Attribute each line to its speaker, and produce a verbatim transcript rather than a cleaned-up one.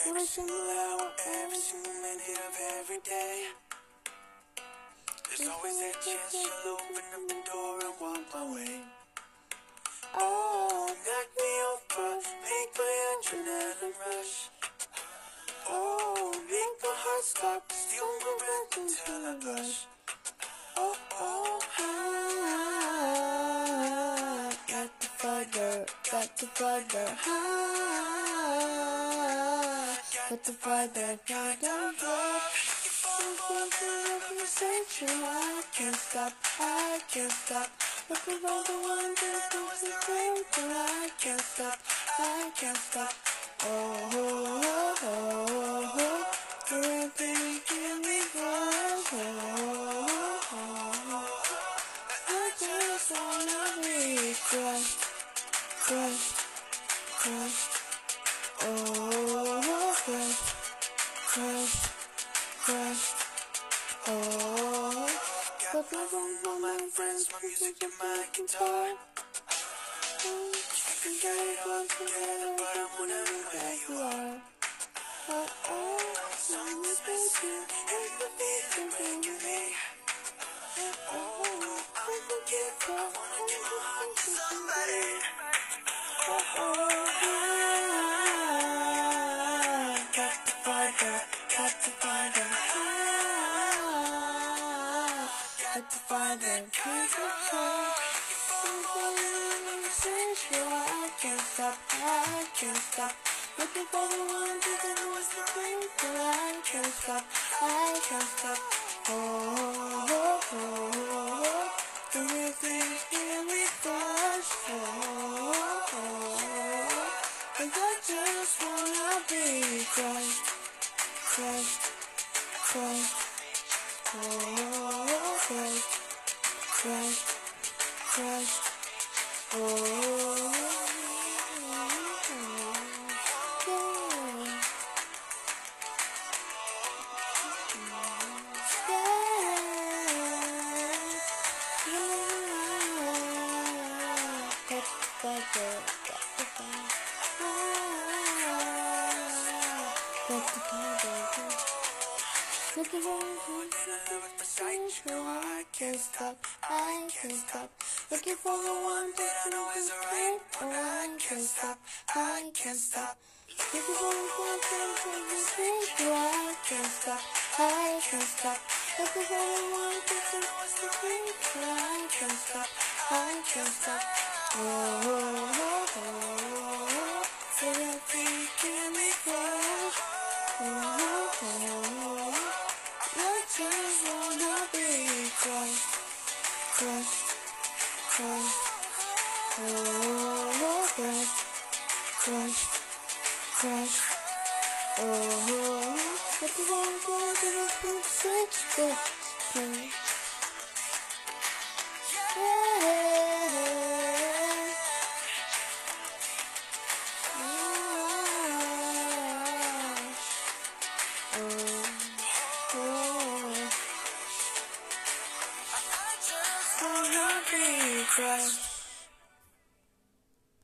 Speaker 1: every single hour, every single minute of every day. There's always that chance you'll open up the door and walk my way. Oh, knock me over, make my adrenaline rush. Oh, make my heart stop, steal my breath until I blush. Oh, oh, ah, got the fire, got the fire, ah, got the fire, got the fire. I can't stop, I can't stop. Looking for the one that knows the thing, but I can't stop, I can't stop. Oh, oh, oh, oh, oh. Everything can be fun. Oh, oh, oh. I just wanna be crushed, crushed, crushed. Oh, crushed, crushed, crushed. Oh, got my phone for my friends, my music and my guitar. You can get it all together, but I wanna know where you are. Oh, oh, some is missing, and the feeling breaking me. Oh, I'm looking for, I wanna give my heart to somebody. Oh, oh, ah, got the fire, got the fire. Got to find that piece of heart. I can't stop, I can't stop. Looking for the one that knows the thing, but I can't stop, I can't stop. Oh, oh, oh, oh. The real thing here we flash. Oh, oh, oh. And I just wanna be crushed, crushed, crushed. Oh, crushed, crushed, crushed. Oh, looking for I can't stop, I can't stop. Looking for the one that I know is right. Oh, I can't stop, I can't stop. Looking for the one that is right. Oh, I can't stop, I can't stop. Looking for the one that I know is right. Oh, I can't stop, I can't stop. Oh, oh, oh, oh. So that thing can be close. Oh, oh, oh. I just wanna be crushed, crushed, crushed. Oh, crushed, crushed, crushed. Oh, but the one that I don't switch,